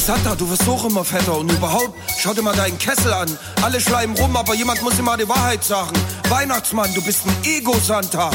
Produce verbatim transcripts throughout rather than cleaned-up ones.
Santa, du wirst auch immer fetter und überhaupt, schau dir mal deinen Kessel an. Alle schleimen rum, aber jemand muss immer die Wahrheit sagen. Weihnachtsmann, du bist ein Ego-Santa.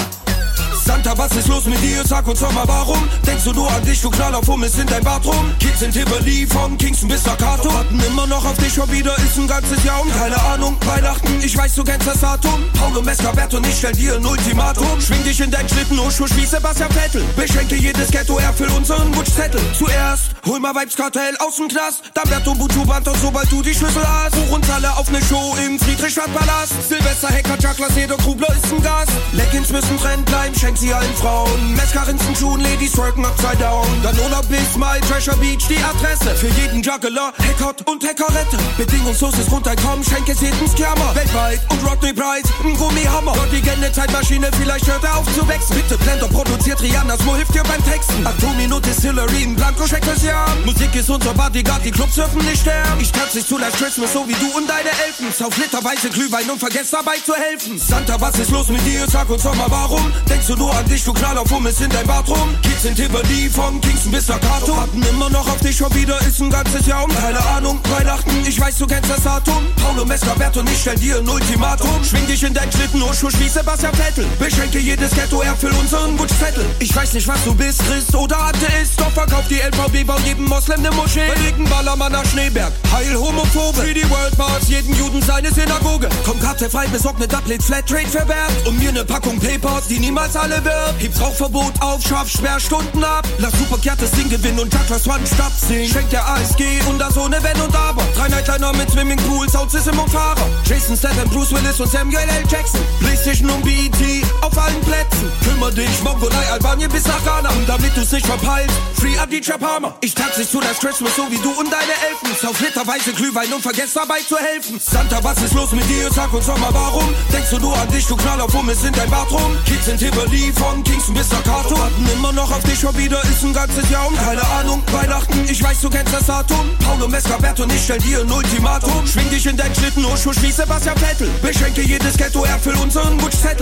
Santa, was ist los mit dir? Sag uns doch mal warum. Denkst du nur an dich, du Knaller, fummelst in dein Bad rum? Kids in Tivoli, von Kingston bis Staccato. Warten immer noch auf dich, schon wieder ist ein ganzes Jahr um. Keine Ahnung, Weihnachten, ich weiß, du kennst das Datum. Paulo Mescabert und ich stell dir ein Ultimatum. Schwing dich in dein Schlitten, Urschuss wie Sebastian Vettel. Beschenke jedes Ghetto, erfüll unseren Wunschzettel. Zuerst, hol mal Vibes-Kartell aus dem Knast. Dann Berto Butu-Band und sobald du die Schlüssel hast. Buch uns alle auf ne Show im Friedrichstadtpalast. Silvester, Hacker, Chaklas, jeder Krubler ist ein Gast. Leggings müssen Trend bleiben, schenk sie allen Frauen. Mescarinsen, Schuhen, Ladies worken upside down. Dann Ola bis My Treasure Beach die Adresse. Für jeden Juggler, Hackert und Hackerette. Bedingungsloses Runterkommen, schenk es jedem Scammer. Weltweit und Rodney Price, ein Gummihammer. Gott, die Gände Zeitmaschine, vielleicht hört er auf zu wechseln. Bitte Blender produziert Rihannas, wo hilft dir beim Texten? Atomino Distillery, ein Blanco-Check fürs Jahr. Musik ist unser Bodyguard, die Clubs dürfen nicht sterben. Ich tanz nicht zu Last Christmas, so wie du und deine Elfen. Sauf literweise Glühwein und vergesst dabei zu helfen. Santa, was ist los mit dir? Sag uns doch mal warum. Denkst du nur an dich, du Knaller, fummelst in dein Bad rum? Kids in Tivoli, von Kingston bis Staccato. Warten immer noch auf dich, schon wieder ist ein ganzes Jahr um. Keine Ahnung, Weihnachten, ich weiß, du kennst das Datum. Paulo Mescabert und ich stell dir ein Ultimatum. Schwing dich in dein Schlitten, Urschuss wie Sebastian Vettel. Beschenke jedes Ghetto, erfüll unseren Wunschzettel. Ich weiß nicht, was du bist, Christ oder Atheist. Doch verkauf die L V B, bau jedem Moslem ne Moschee. Verlegen Ballermann nach Schneeberg, heil Homophobe. Für die World Mars, jeden Juden seine Synagoge. Komm kartefrei, besorg ne Doublet, Flatrate verwerbt. Und mir ne Packung Papers, die niemals alle wirbt. Heb's Rauchverbot auf, scharf, Sperrstunden ab. Lass Superkehrt das Ding gewinnen und Chakras One Stab singen. Schenkt der A S G und das ohne Wenn und Aber. Drei Nightliner mit Swimmingpool, Soundsystem und Fahrer. Jason Statham, Bruce Willis und Samuel L. Jackson. Playstation und B E T auf allen Plätzen. Kümmer dich, Mongolei, Albanien bis nach Ghana. Und damit du's nicht verpeilst, Free Adi Chapama. Ich tanz nicht zu Last Christmas, so wie du und deine Elfen. Sauf literweise Glühwein und vergesst dabei zu helfen. Santa, was ist los mit dir? Sag uns doch mal warum. Denkst du nur an dich, du Knaller, fummelst in dein Bad rum? Kids in Tivoli, von Kingston bis Staccato. Warten immer noch auf dich, schon wieder ist ein ganzes Jahr um. Keine Ahnung, Weihnachten, ich weiß, du kennst das Datum. Paulo Mescabert und ich stell dir ein Ultimatum. Schwing dich in dein Schlitten, Urschuss wie Sebastian Vettel. Beschenke jedes Ghetto, erfüll unseren Wunschzettel.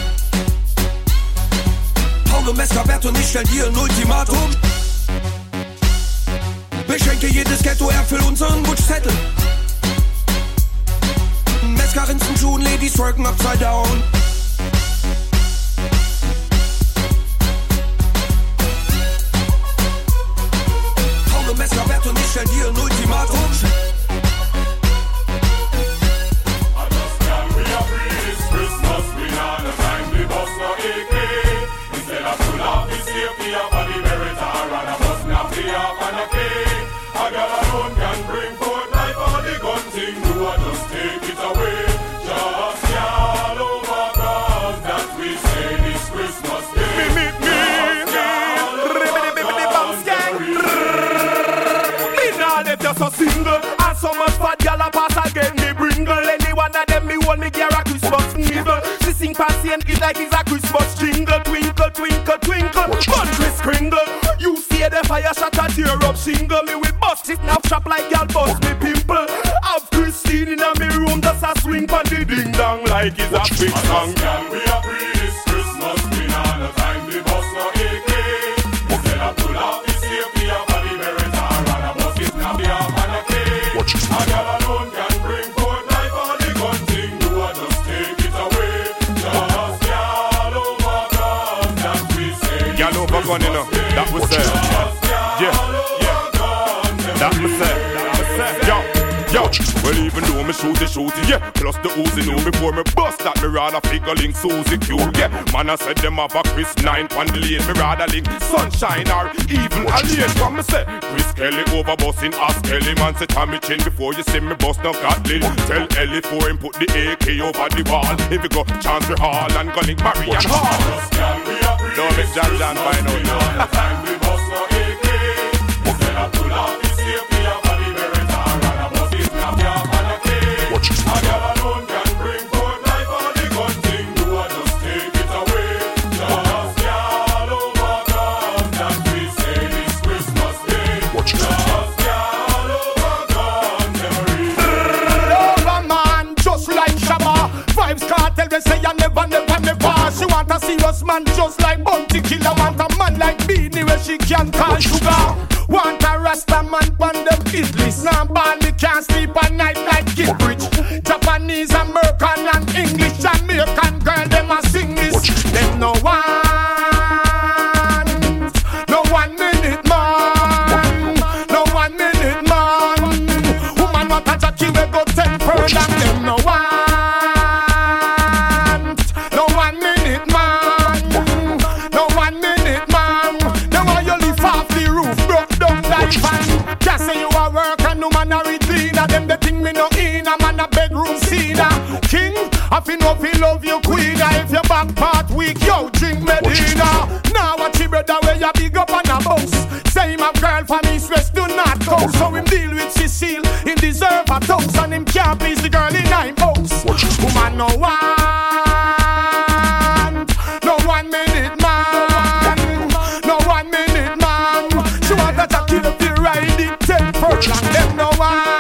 Paulo Mescabert und ich stell dir ein Ultimatum. Beschenke jedes Ghetto, erfüll unseren Wunschzettel. Mescarinsen, Schuhen, Ladies worken upside down. Paulo Mescabert und ich stell dir ein Ultimatum. So single, and so much fat gal a pass again me bringle. Any one of them me want me gear a Christmas nibble. She sing patient it like it's a Christmas jingle. Twinkle, twinkle, twinkle, country springle. You see the fire shot a tear up single. Me we bust it now shop like gal bust me pimple. Have Christine in a me room just a swing pan the ding dong like it's a big song. Gal we a breathe this Christmas, we not no time we bust no A K. Instead of pull out this safety of body Beretta and a bust it now be a a girl alone can bring forth life all the gun thing. Do I just take it away? Just girl over gun that we say. Girl over gun, you know, that was said. Yeah, yeah, that was said. That was said. Yo. Yo, well even though me shoot the shooty, yeah. Plus the Uzi know before me bust that me rather figure link Susie Q, yeah. Man I said them have a Chris nine pan the lane, me rather link Sunshine or even Alien. What me say? Chris Kelly over busting Ask Kelly, man say Tommy Chin before you see me bust no Gatlin. Tell Ellie for him put the A K over the wall. If you go Chancery Hall and go link Marian Hall. Don't make John John find out now. Time we bust no A K. Instead of pull out the safety of body Beretta and a bust it snap ya on a cake. A girl alone can bring forth life all the gun thing. Do I just take it away? Just girl over gun that we say this Christmas Day. Just girl over gun memory. Over man, just like Shabba. Vibes Cartel, they say I never, never, never. She want a serious man just like Bounty Killer. Want a man like Beanie where she can call sugar. Want a Rasta man pon them hit list. Now ball me can't sleep at night like Kid Rich. Japanese, American and English, Jamaican girl them a sing this. Them no one, no one minute man, no one minute man. Woman want a Jackie we go ten further. Them no one, no one minute man, no one minute man. Now why you live off the roof, broke down like fan. Can't say you a work and no man a recliner. Them the thing me no in a man a bedroom cleaner. King, I feel no feel love you queen. If your back part weak, yo drink Medina. Now watch your brother where you big up on a boss. Say him a girl for me stress do not go. So him deal with Cecile, him deserve a toast. And him can't please the girl in nine house. Woman no one, no one minute man, no one minute man. She want that I kill if you ride it ten furlong. Them no one.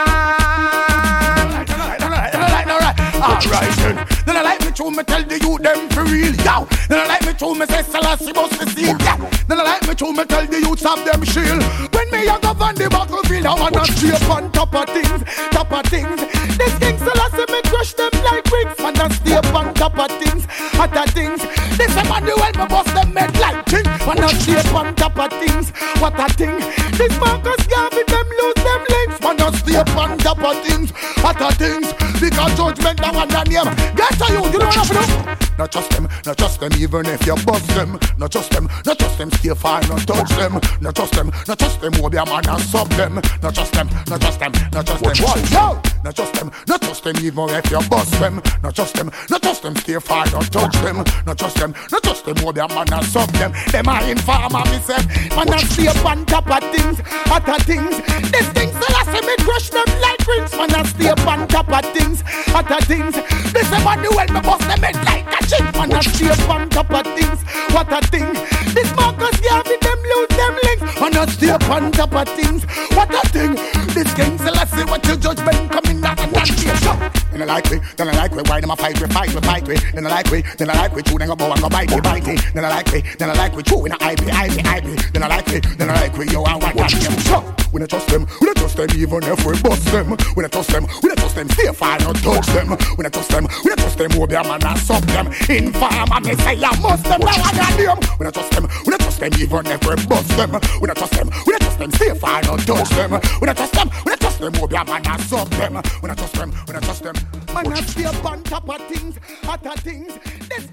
Alright then, then I like me to me tell the youth them for real, yo. Then I like me to me say Selassie must be seen, yeah. Then I like me to me tell the youths of them shield. When me a go on the battlefield, I wanna stay on top of things, top of things. This King Selassie me crush them like bricks, wanna stay on top of things, hotter things. This Emmanuel me bust them head like king, wanna stay on top of things, what a thing. This Marcus Garvey them lose them legs, wanna stay on top of things, hotter things. Because judgment that one name. Get to you, you don't have to do. Not trust them, not trust them even if you bust them. Not trust them, not trust them, stay fine, not touch them. Not trust them, not trust them, will be a man and sub them. Not trust them, not trust them, not trust them. What? No! Not trust them, not trust them even if you bust them. Not trust them, not trust them, stay fine, not touch them. Not trust them, not trust them, will be a man and sub them. Them are informer, me say. Man and stay on top of things, other things. These things that I say me crush them like rings. Man and stay on top of things, other things. This is what the world me bust them head like a chick. Man and stay on top of things, what a thing. This Marcus Garvey them lose them links. Man and stay on top of things, what a thing. This King Selassie what your judgment coming out and not here. Then I like me, then I like me. Why them a fight we, fight we, fight we. Then I like me, then I like me. Chew then go bow and go bite me, bite me. Then I like me, then I like me. Chew in a I P, I P, I P. Then I like me, then I like me. Yo, I want that them. So we don't trust them, we don't trust them even if we bust them. We don't trust them, we don't trust them. Stay far, not touch them. We don't trust them, we don't trust them. Will be a man and sub them. Informer, me say I must them. Now I got them. We don't trust them, we don't trust them even if we bust them. We don't trust them, we don't trust them. Stay far, not touch them. We don't trust them, we don't trust them. Will be a man and sub them. We don't trust them, we don't trust them. Man and stay on top of things, other things. This